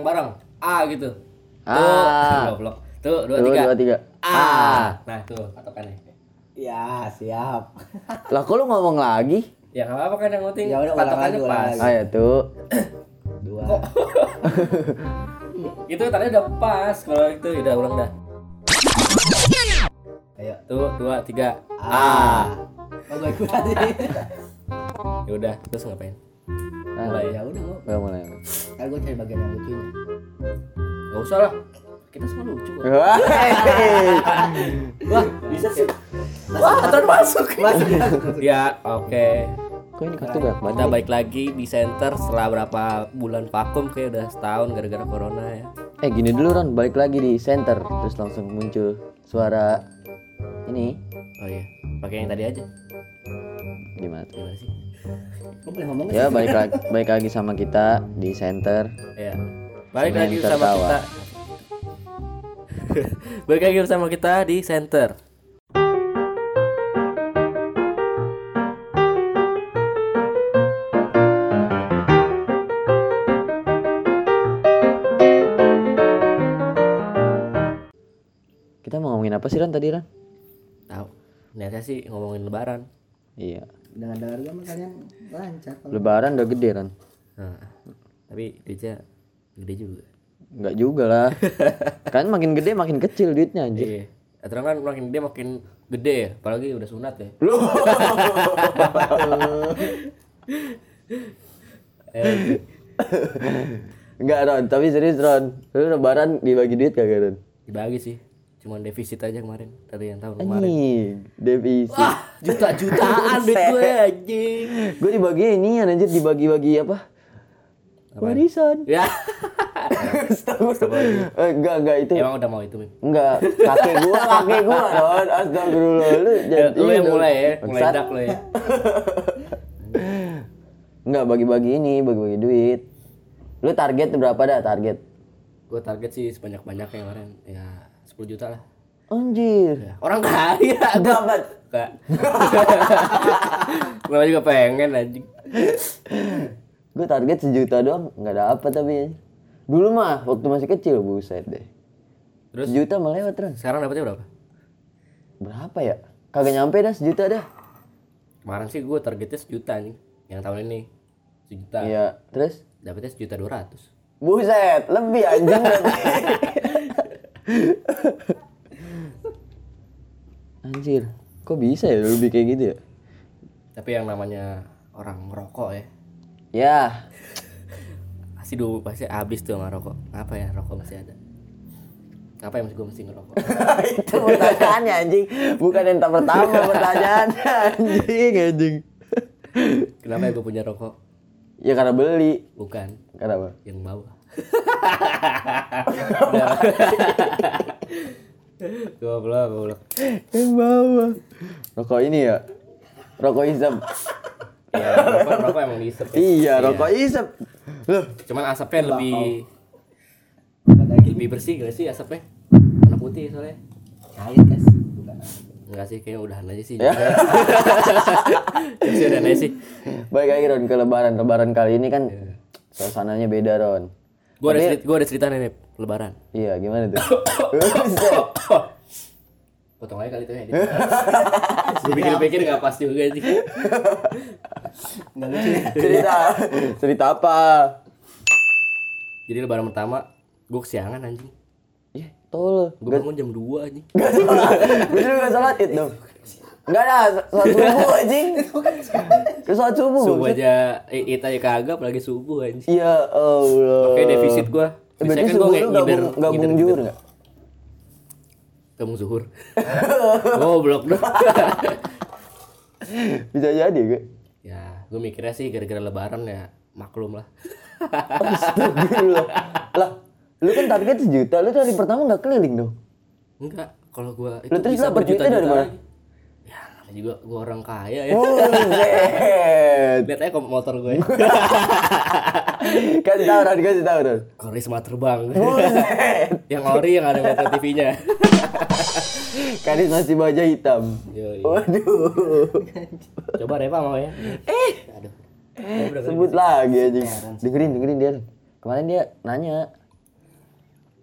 bareng. A gitu. A. Goblok. Tuh, 2 3. A. Nah, tuh patokannya. Ya, siap. Lah kok lu ngomong lagi? Ya enggak apa-apa kan yang penting Ya udah, ulang patokannya lagi, pas. ulang Ayo tuh. 2. Itu tadi udah pas. Kalau itu udah ulang dah. Ayo. Tuh, 2 3. A. Oh, gue ikutan sih. Ya udah, terus ngapain? Nah, Mulai. Ya udah, gua. Udah mulai. Kan gue cari bagian yang lucunya. Enggak usah lah. Kita semua lucu kok. Wah. Wah, bisa sih. Wah, aturan masuk. Masuk. Ya, oke. Kok ini kartu banyak Kita banget? balik lagi di center setelah berapa bulan vakum, kayak udah setahun gara-gara corona ya. Gini dulu Ron, balik lagi di center terus langsung muncul suara ini. Oh iya, pakai yang tadi aja. Gimana? Gimana sih? Gue boleh ngomong Ya balik lagi sama kita di center. Ya. Balik lagi Center bersama tawa. kita. Balik lagi bersama kita di center. Kita mau ngomongin apa sih Ron tadi Ron? Tahu. Niatnya sih ngomongin lebaran. Iya. Dengar-dengar gue mah kalian lancar. Lebaran udah gede Ron. Nah, tapi duitnya gede juga. Enggak juga lah. Kan makin gede makin kecil duitnya anjir. Iya. Aturan kan makin gede makin gede ya, apalagi udah sunat ya. Enggak Ron, tapi serius Ron. Lu lebaran dibagi duit kagak Ron? Dibagi sih. Cuman defisit aja kemarin dari yang tahun kemarin. Anjing, defisit. Wah, juta-jutaan duit gue anjing. Gue dibagi ini anjir, dibagi-bagi apa? Warisan. Ya. Enggak itu. Emang udah mau itu, Mim? Enggak, kakek gua Ron. Astagfirullah lu Ya, lu yang dong. mulai ya, mulai Bangsat. dak lu ya. Enggak bagi-bagi duit. Lu target berapa dah target? Gue target sih sebanyak-banyaknya kemarin. Ya 10 juta lah. Anjir. Ya, orang kaya. Dapat. Enggak. Gue juga pengen anjing. Gue target 1 juta doang, enggak dapet tapi. Dulu mah waktu masih kecil buset deh. Terus 1 juta mah lewat Ron. sekarang dapetnya berapa? Berapa ya? Kagak nyampe dah 1 juta dah. Kemarin sih gue targetnya 1 juta nih. Yang tahun ini 1 juta. Iya, terus Dapetnya 1.200.000. buset, lebih anjing berarti. Anjir, kok bisa ya lebih kayak gitu ya? Tapi yang namanya orang ngerokok ya, Ya, pasti habis tuh sama rokok. Apa ya, rokok masih ada. Apa yang gue mesti ngerokok? itu pertanyaannya anjing. Bukan yang pertama pertanyaannya anjing. Kenapa ya gue punya rokok? Ya karena beli. Bukan, Karena apa? yang bawah. Goblok. Yang bawah. Rokok ini ya? Rokok isep. Ya, rokok emang diisep. Ya. Iya, rokok isep. Loh, Cuman asapnya lebih bersih gak sih asapnya? Warna putih soalnya. Cair guys. Bukan. Enggak sih, kayaknya udahan aja sih. Ya. Ya udahan aja sih. Baik lagi Ron ke lebaran. Lebaran kali ini kan suasananya beda Ron. Gue ada cerita nih, lebaran. Iya, gimana tuh? Buset. Potong aja kali itu ya. Gue pikir-pikir gak pas juga sih. Enggak lucu. Cerita apa? Jadi lebaran pertama gue kesiangan anjing. Ya, tol. Gue bangun jam 2 anjing. Gak sholat. Bener gak sholat id dong? Enggak ada, sholat subuh anjing. Ke sholat subuh. Subuh aja itu aja kagak apalagi subuh anjing. Ya Allah. Oke, defisit gue. Berarti subuh lu gabung juhur gak? Gabung zuhur. Goblok dong. Bisa jadi gak? Ya, gue mikirnya sih gara-gara lebaran ya maklum lah. Astagfirullah. Lah, lu kan target 1 juta, lu hari pertama gak keliling dong? Enggak, kalau gue itu Lu terus bisa dapet duitnya dari berjuta-juta mana? lagi. Ya, namanya juga gue orang kaya ya. Buset. Lihat aja kok motor gue. Kasih tau Ron. Karisma terbang. Buset. Yang ori yang ada Metro TV-nya. Kadis masih baja hitam. Yoi. Waduh. Coba Reva mau ya. Aduh. Sebut lagi anjing. Dengerin dia. Kemarin dia nanya,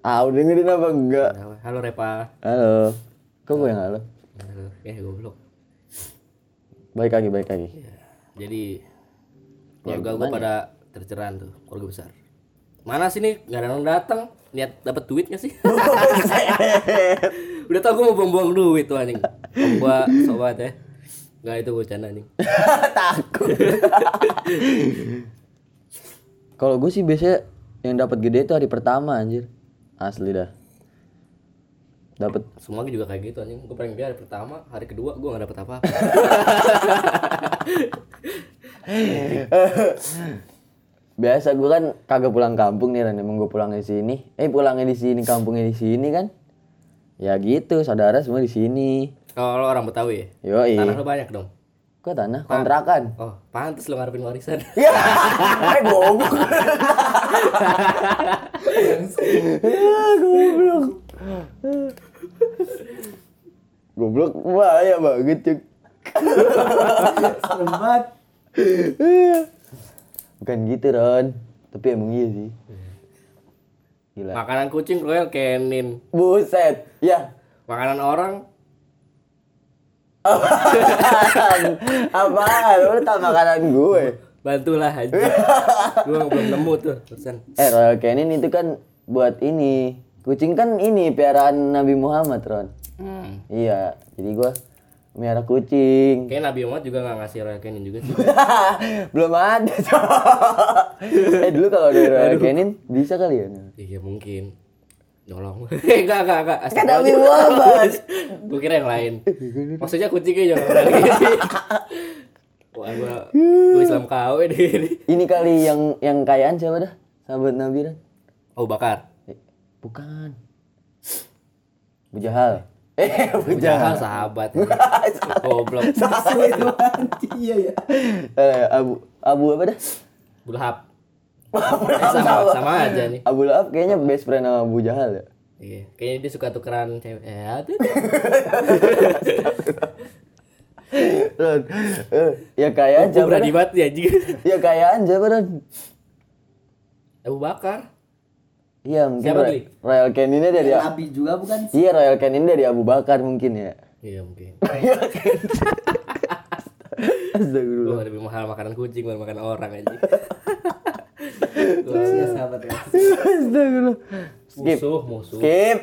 Ah, udah dengerin apa enggak? Halo Repa. Halo. Kok gue yang halo? Halo. Goblok. Baik lagi. Jadi keluarga gue pada terceran tuh, keluarga besar. Mana sih nih? Gak ada yang datang. Niat dapat duit gak sih? Udah tau gue mau buang-buang duit tuh anjing. Om gua sobat ya. Enggak, itu bercanda anjing. Takut. Kalau gue sih biasanya yang dapat gede itu hari pertama anjir. Asli dah. Dapat Semua juga kayak gitu anjing. Gue paling gede hari pertama, hari kedua gue gak dapet apa-apa. biasa gue kan kagak pulang kampung nih Ran, emang gue pulangnya di sini. Pulangnya di sini, kampungnya di sini kan. Ya gitu, saudara semua di sini. Kalau orang Betawi ya? Yoi. Tanah lu banyak dong. Kok tanah kontrakan? Oh, pantes lu ngarepin warisan. Ya, goblok. Goblok. Goblok bahaya banget, Cuk. Serem banget. Bukan gitu, Ron. Tapi emang iya sih. Gila. Makanan kucing Royal Canin. Buset. Ya. Makanan orang Apaan? Lu tau makanan gue. bantulah aja. Gue belum nemu tuh pesan. Royal Canin itu kan buat ini. Kucing kan ini piaraan Nabi Muhammad, Ron. Iya, jadi gua miara kucing. Kayak Nabi Muhammad juga gak ngasih Royal Canin juga sih. Belum ada, dulu kalau ada Royal Canin bisa kali ya? Iya mungkin. Nyolong. Enggak. Kan Nabi Muhammad. Gue kira yang lain. Maksudnya kucingnya jangan lagi. Wah, gue Islam KW deh. Ini kali yang kayaan siapa dah? Sahabat Nabi kan? Oh, Bakar. Bukan. Bujahal. Bujahal sahabat. Goblok. Iya ya. Abu apa dah? Bulhab. Sama aja nih. Abu Lahab kayaknya best friend sama Abu Jahal ya. Iya, kayaknya dia suka tukeran cewek. Tuh. Ron, ya kayaan Gue siapa berani dah? banget ya anjing. Ya kayaan siapa Ron? Abu Bakar. Iya mungkin Siapa, Gli? Royal Caninnya dari Nabi juga bukan sih? Iya Royal Canin dari Abu Bakar mungkin ya. Iya mungkin. Astagfirullah. Gue lebih mahal makanan kucing bukan makan orang aja. Iya sahabat ya. Astagfirullah. Skip. Musuh. Skip.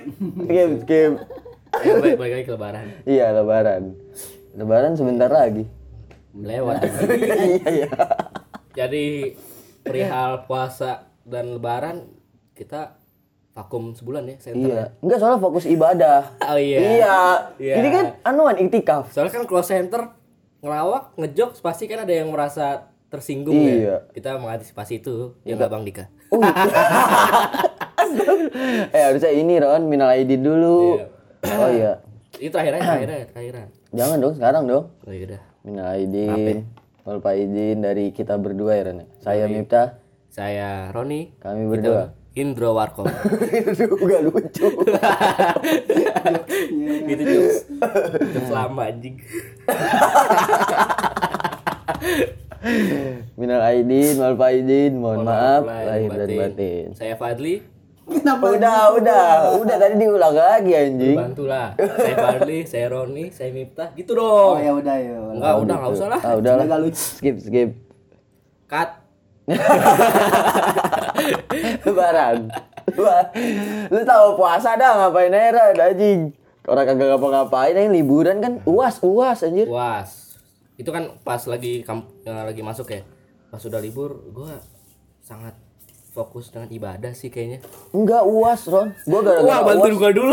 Balik lagi ke lebaran. Iya Lebaran. Lebaran sebentar lagi. Melewat. Iya. Jadi perihal puasa dan lebaran kita vakum sebulan ya center. Iya. Enggak soalnya fokus ibadah. Oh iya. Iya. Ini kan anuan iktikaf. Soalnya kan close center ngelawak, ngejokes pasti kan ada yang merasa tersinggung Iya. ya. Kita mengantisipasi itu ya nggak Bang Dika. Harusnya ini Ron, minal aidin dulu. Iya. Oh iya. Itu akhiran. Jangan dong, sekarang dong. Oh iya udah. Minal aidin. Wal faizin dari kita berdua ya Ron. Saya Miftah, Saya Roni. kami berdua. Indro Warkop. Itu gak lucu. Gitu jokes lama anjing. Minal aidin, wal faizin, mohon maaf lahir dan batin. Saya Fadli. Udah tadi diulang lagi anjing. Bantulah. Saya Fadli, saya Roni, saya Miftah. Gitu dong. Oh ya udah ya. Enggak usah lah. Udah lah. Nggak lucu. Skip. Cut. Lebaran. Lu tahu puasa dah ngapain aja anjing. Orang kagak ngapa-ngapain yang liburan kan uas anjir. Puas. Itu kan pas lagi lagi masuk ya. Pas udah libur, gua sangat fokus dengan ibadah sih kayaknya. Enggak uas, Ron. Gua gara-gara bantuin gua dulu.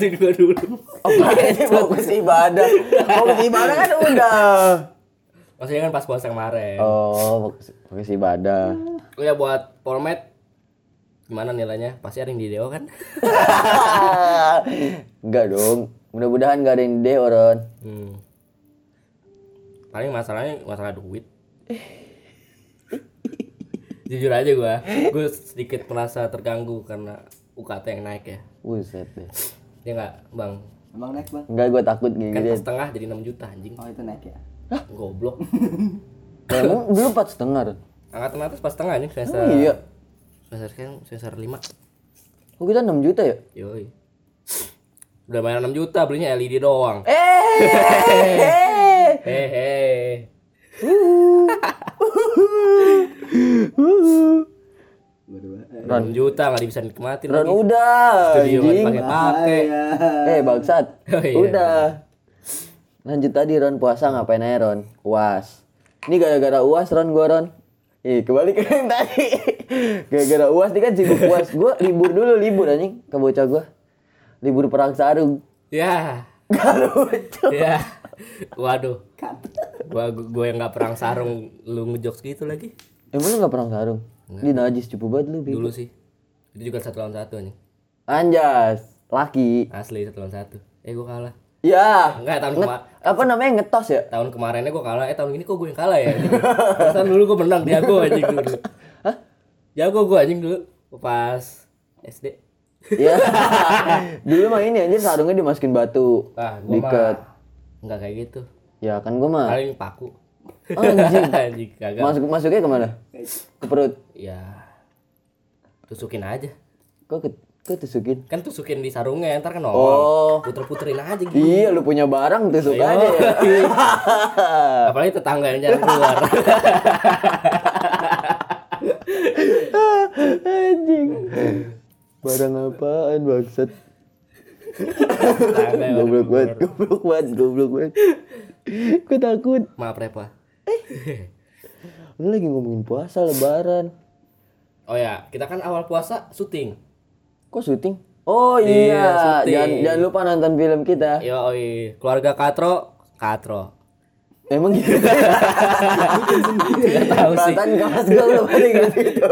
fokus ibadah. Fokus ibadah kan udah. Maksudnya kan pas puasa kemarin. Oh, fokus ibadah. Oh ya buat format gimana nilainya? Pasti ada yang di Deo kan? Enggak dong. Mudah-mudahan enggak ada yang di Ron. Paling masalahnya masalah duit. Jujur aja gue sedikit merasa terganggu karena UKT yang naik ya. Buset deh. Ya enggak, Bang? Emang naik bang? Enggak, gua takut Kan gini. setengah jadi 6 juta anjing. Oh itu naik ya. Goblok. Emang dulu 4,5 Ron. Angkatan atas pas setengah anjing semester. Iya. Semester 5. Oh kita 6 juta ya? Yoi. Udah bayar 6 juta belinya LED doang. Hehe. Berdua. 6 juta nggak bisa nikmatin Ron lagi. udah. Studio nggak anjing. dipakai-pakai. Bangsat. Oh, iya. Udah. Lanjut tadi Ron puasa ngapain aja Ron? UAS. Ini gara-gara UAS Ron gua Ron. Kembali ke yang tadi. Gara-gara UAS nih kan sibuk UAS. Gua libur anjing ke bocah gua. Libur perang sarung. Ya. Gak lucu. Ya. Waduh. Gua yang nggak perang sarung lu ngejokes gitu lagi. Emang lu gak perang sarung? Di najis cupu banget lu. Dulu sih. Itu juga 1 lawan 1 nih. Anjas. Laki. Asli 1 lawan 1. Gua kalah. Ya. Enggak, Apa namanya ngetos ya? tahun kemarinnya gue kalah, tahun ini kok gue yang kalah ya? Tahun dulu gue menang, jago anjing dulu. Hah? Jago gue anjing dulu pas SD. Ya. Dulu mah ini anjir sarungnya dimasukin batu. Ah, gue Diket. mah enggak kayak gitu. Ya kan gua mah. Kali ini paku. Anjing. Anjing kagak. Masuknya kemana? Ke perut. Ya. Tusukin aja. Kok tusukin? Kan tusukin di sarungnya, ntar kan Oh. nongol. Puter-puterin aja gitu. Iya, lu punya barang tusuk Ayo. aja ya. Apalagi tetangga yang jarang keluar. Anjing. Barang apaan bangsat? Tetangga yang Goblok jarang keluar. banget. Gua takut. Maaf Repa. Lu lagi ngomongin puasa lebaran. Oh ya, kita kan awal puasa syuting. Kok syuting? Oh Iya, iya, syuting. jangan lupa nonton film kita. Yo, keluarga Katro. Emang gitu. Gak tahu sih. Perasaan kelas gue belum ada gitu.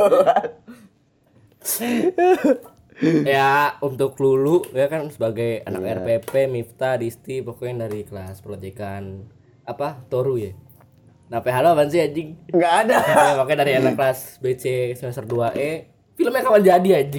Ya untuk Lulu ya kan sebagai anak Iya. RPP, Miftah, Disti pokoknya dari kelas proyekan apa Toru ya. Nah halo apaan sih anjing? Enggak ada. Ya, makanya dari anak kelas BC semester 2E filmnya kapan jadi anjing?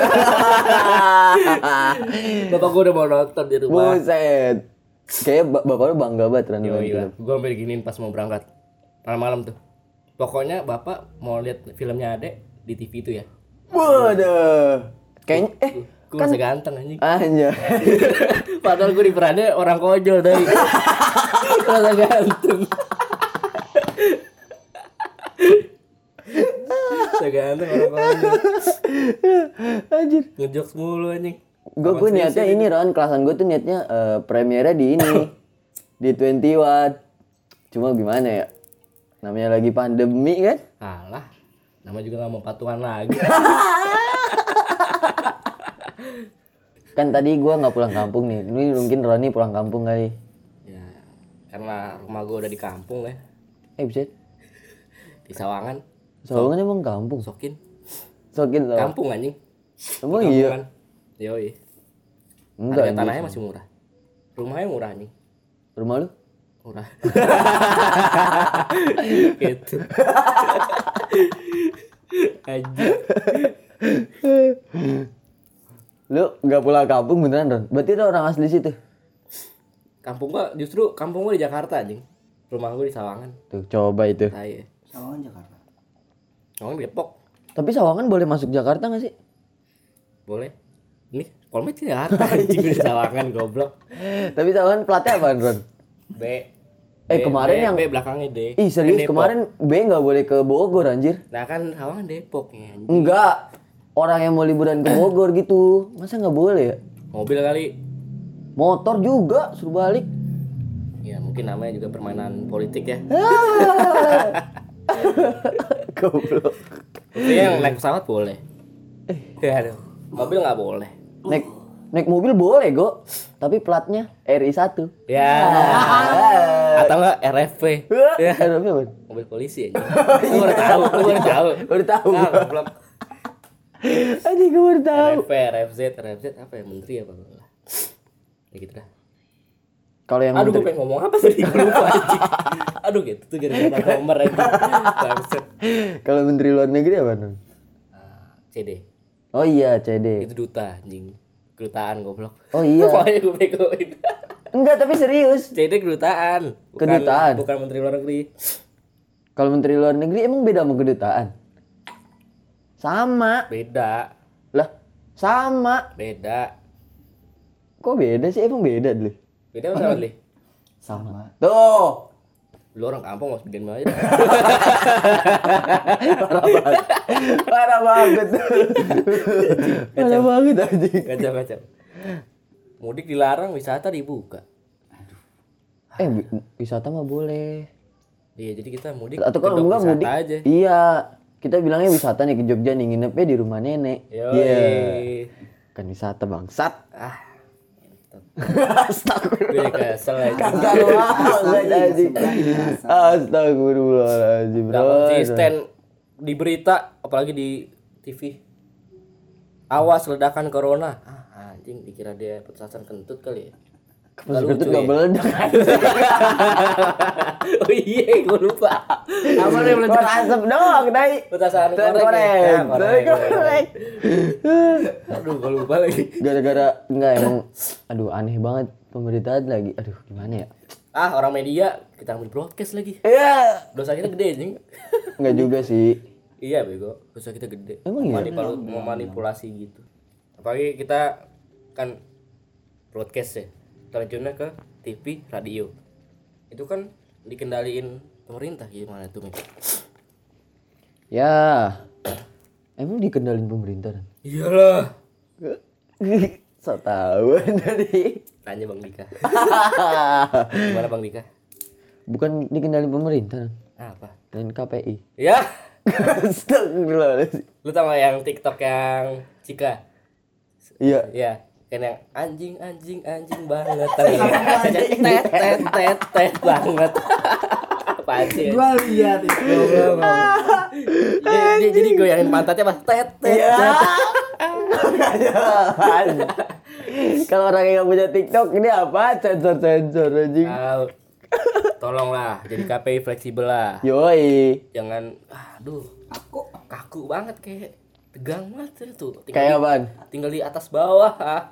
Bapak gua udah mau nonton di rumah. Buset. Kayaknya bapak lu bangga banget Ran. Yo iya, gua sampai diginiin pas mau berangkat malam-malam tuh. Pokoknya bapak mau lihat filmnya Ade di TV itu ya. Waduh. Kayaknya Gua masih ganteng anjing. anjay. Padahal gue diperannya orang konyol dari rasa ganteng. Rasa ganteng orang konyol. Anjir. Ngejokes mulu anjing. Gue niatnya ini Ron, kelasan gue tuh niatnya premiernya di ini. Di 21. Cuma gimana ya? Namanya lagi pandemi kan? Alah, nama juga gak mau patuhan lagi. Kan tadi gue nggak pulang kampung nih. Ini mungkin Roni pulang kampung kali. Ya, karena rumah gue udah di kampung ya. Buset. Di Sawangan. Sawangan emang kampung. Sokin. Sokin Sawangan. Kampung anjing. Emang iya. Kampungan. Yoi. Enggak. Harga tanahnya masih murah. Rumahnya murah anjing. Rumah lu? Murah. Gitu. Anjing. Lu nggak pulang kampung beneran Ron? Berarti ada orang asli situ. Kampung gua di Jakarta anjing. Rumah gua di Sawangan. Tuh coba itu. Tai ya. Sawangan Jakarta. Sawangan Depok. Tapi Sawangan boleh masuk Jakarta nggak sih? Boleh. Ini Polmed di Jakarta anjing di Sawangan goblok. Tapi Sawangan platnya apaan Ron? B. Kemarin yang B belakangnya D. Ih serius Depok. kemarin B nggak boleh ke Bogor anjir. Nah kan Sawangan Depok ya anjing. Enggak. Orang yang mau liburan ke Bogor gitu. Masa nggak boleh ya? Mobil kali. Motor juga suruh balik. Ya mungkin namanya juga permainan politik ya. Goblok. Tapi yang naik pesawat boleh. Ya aduh. Mobil nggak boleh. Naik mobil boleh, Go. Tapi platnya RI1. Ya. Atau enggak RFP. Ya. Apa, Bang? Mobil polisi aja. Gue baru tahu. Baru tahu. Ah, goblok. Anjing gue baru tahu. RFP, RFZ apa ya menteri apa lah. Ya gitu dah. Kalau yang Aduh gue pengen ngomong apa tadi gue lupa anjing. Aduh gitu tuh gara-gara nomor aja. Bangset. Kalau menteri luar negeri apa, Bang? CD. Oh iya, CD. Itu duta anjing. Kedutaan goblok. Oh iya. Pokoknya gue begoin. Enggak, tapi serius. CD kedutaan. Kedutaan? Bukan menteri luar negeri. Kalau menteri luar negeri emang beda sama kedutaan? Sama. Beda. Lah, Sama. Beda. Kok beda sih? Emang beda dulu. Beda apa sama Li? Sama. Tuh. Lu orang kampung mau bikin aja. Parah banget. Parah banget anjing. Kacau. Mudik dilarang, wisata dibuka. Wisata mah boleh. Iya, jadi kita mudik. Atau kalau kedok enggak wisata mudik aja. Iya. Kita bilangnya wisata nih ke Jogja nih, nginepnya di rumah nenek. Yoi. Kan wisata bangsat. Ah, Astagfirullah. gue kesel aja. Kagak banget anjing. Astagfirullahaladzim, Gak bro. konsisten di berita, apalagi di TV. Awas ledakan corona. Ah, anjing dikira dia petasan kentut kali ya. Pas kentut gak meledak. Oh iya, gue lupa. Apa nih Kok meledak? asap doang, dai. Petasan Korek. korek. Aduh, gue lupa lagi. Gara-gara enggak emang aduh aneh banget pemberitaan lagi. Aduh, gimana ya? Ah, orang media kita ambil broadcast lagi. Iya. Dosa kita gede anjing. Enggak juga sih. Iya bego, dosa kita gede. Emang iya? Memanipulasi gitu. Apalagi kita kan broadcast ya, terjunnya ke TV, radio. Itu kan dikendaliin pemerintah gimana tuh, Mik? Ya. Emang dikendalin pemerintah? Iyalah. So tahu dari. Tanya Bang Dika. Gimana Bang Dika? Bukan dikendalin pemerintah Apa? dan KPI. Ya, Astagfirullahaladzim. lu tau gak yang TikTok yang Cika? Iya. Iya, kan yang anjing banget. Tet banget. Apaan sih? Gua lihat itu. Jadi goyangin pantatnya pas tet. Kalau orang yang nggak punya TikTok ini apa? Sensor anjing. Tolonglah jadi KPI fleksibel lah. Yoi. Jangan aduh, kaku banget kayak tegang banget tuh. Kayak apaan? Tinggal di atas bawah.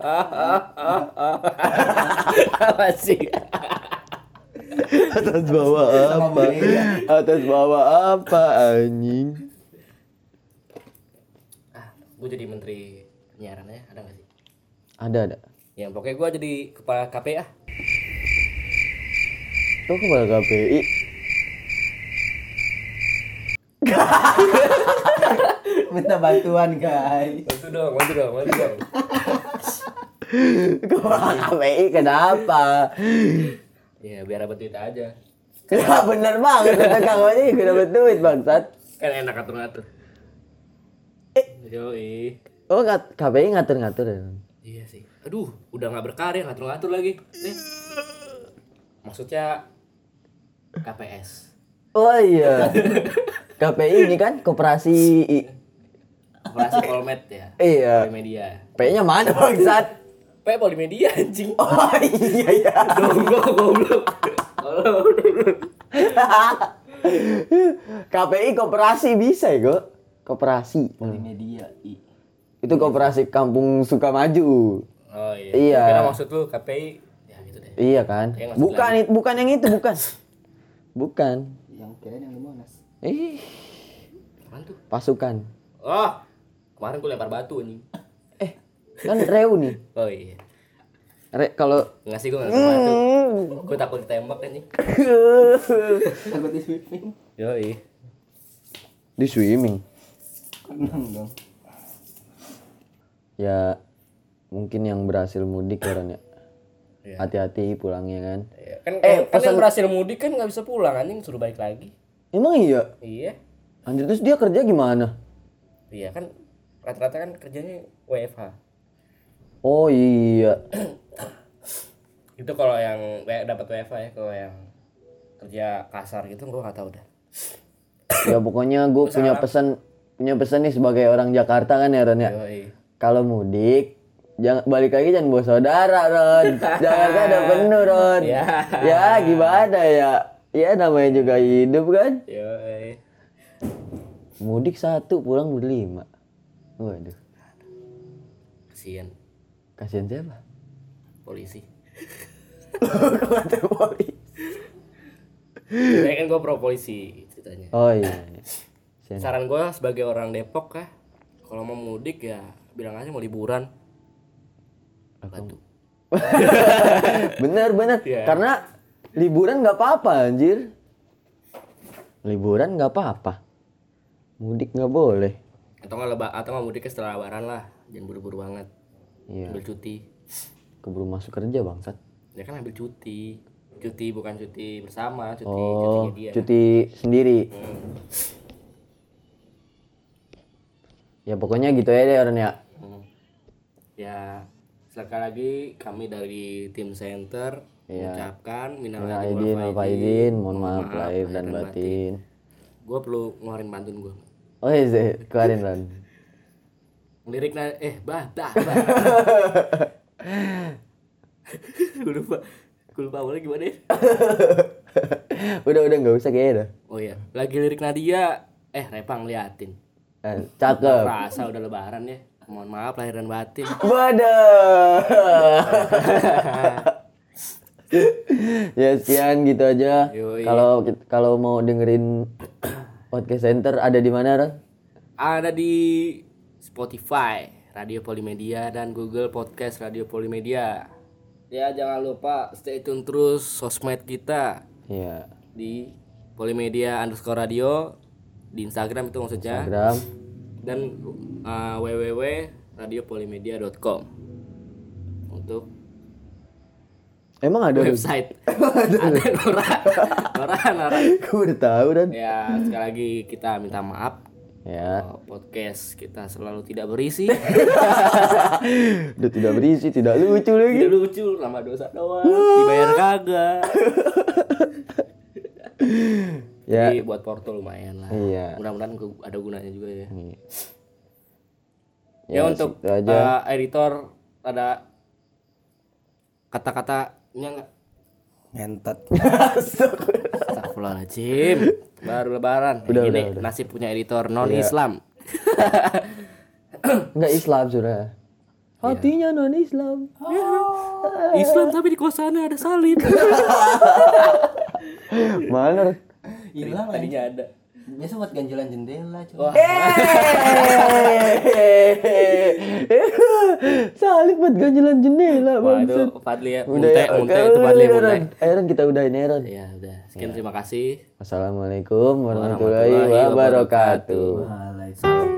Apa sih? Atas bawah apa? Atas bawah apa anjing? Gue jadi menteri penyiaran ya, ada nggak sih? Ada. Ya pokoknya gue jadi kepala KPI ah. Kok kepala KPI? Minta bantuan, guys. Bantu dong. Kepala KPI kenapa? Ya biar dapat duit aja. Ya bener banget, kata Kang Ojek juga dapet duit bangsat. Kan enak ngatur-ngatur. Yoi. Oh KPI ngatur-ngatur ya? Iya sih. Aduh, udah nggak berkarya ngatur-ngatur lagi. Maksudnya KPS. Oh iya. KPI ini kan koperasi. Operasi Polmed ya. Iya. Polimedia. P-nya mana bangsat? P Polimedia anjing. Oh iya. Goblok. KPI koperasi bisa ya, Go? Koperasi. Polimedia. Itu koperasi Kampung Sukamaju. Oh iya. Iya. Kira maksud lu KPI ya gitu deh. Iya kan? Yang maksud Bukan yang itu, bukan. Bukan. Yang kira yang di Monas. Apaan tuh? Pasukan. Oh. Kemarin gue lempar batu anjing. Kan reuni. Oh iya. Kalau Enggak sih gue enggak lempar batu. Gue takut ditembak anjing. Takut di sweeping. Yoi. di swimming. Tenang dong. Ya mungkin yang berhasil mudik ya Ron ya. Iya. Hati-hati pulangnya kan. Iya. Kan pesan- yang berhasil mudik kan nggak bisa pulang anjing, suruh balik lagi. Emang iya? Iya. Anjir terus dia kerja gimana? Iya kan rata-rata kan kerjanya WFH. Oh iya. Itu kalau yang dapat WFH ya, kalau yang kerja kasar gitu gua nggak tahu dah. Ya pokoknya gue punya pesan nih sebagai orang Jakarta kan ya Ron ya. Yoi. Kalau mudik jangan balik lagi, jangan bawa saudara Ron. Jakarta ada penuh Ron. Ya. Ya gimana ya? Ya namanya juga hidup kan. Yoi. Mudik 1 pulang berlima. Waduh. Kasian Kasihan siapa? polisi. Kata polisi. Saya kan gua pro polisi ceritanya. Oh iya. Kasihan. Saran gua sebagai orang Depok kah, kalau mau mudik ya bilang aja mau liburan. Batu. Bener. Iya. Karena liburan nggak apa-apa anjir. Liburan nggak apa-apa. Mudik nggak boleh. Atau nggak mudiknya setelah lebaran lah. Jangan buru-buru banget. Iya. Ambil cuti. Keburu masuk kerja bangsat. Ya kan ambil cuti. Cuti bukan cuti bersama, Oh, cutinya dia. cuti sendiri. Ya pokoknya gitu ya deh Ron ya. Ya, sekali lagi kami dari tim center mengucapkan minal Aidin wal faizin, mohon maaf lahir dan batin. Gue perlu ngeluarin pantun gue. Oh iya, keluarin Ron. Liriknya bah. Gue lupa awalnya gimana ya? udah nggak usah kayaknya dah. Oh iya, lagi lirik Nadia. Repang liatin. Cakep. Rasa udah lebaran ya. Mohon maaf lahir dan batin. Waduh. Ya sekian gitu aja. Yoi. Kalau mau dengerin podcast center ada di mana Ron? Ada di Spotify Radio Polimedia dan Google Podcast Radio Polimedia. Ya jangan lupa stay tune terus sosmed kita Iya. di Polimedia_radio di Instagram itu maksudnya. Instagram. Dan www.radiopolimedia.com untuk Emang ada Ron? website. Ada Nora. Gue udah tahu Ron. Ya sekali lagi kita minta maaf. Ya. Podcast kita selalu tidak berisi. Udah tidak berisi, tidak lucu lagi. Tidak lucu, lama dosa doang. Dibayar kagak. Ya. Jadi buat Porto lumayan lah. Iya. Mudah-mudahan ada gunanya juga ya. Ya, untuk situ aja. editor ada kata-katanya enggak? Ngentot. Astagfirullahaladzim. Baru lebaran. Udah, Ini udah. nasib punya editor non-Islam. Enggak Islam sudah. Hatinya non Islam. Islam tapi di kosannya ada salib. Mana? Ron? Hilang Tadinya ada. Biasa buat ganjelan jendela cuy. Wah. Salib buat ganjelan jendela Wah itu bangsat. Fadli ya. Udah ya, Munte itu Fadli udah, munte. Ron. Ayo Ron, kita udahin ya Ron. Ya udah. Sekian terima kasih. Wassalamualaikum warahmatullahi wabarakatuh. Waalaikumsalam.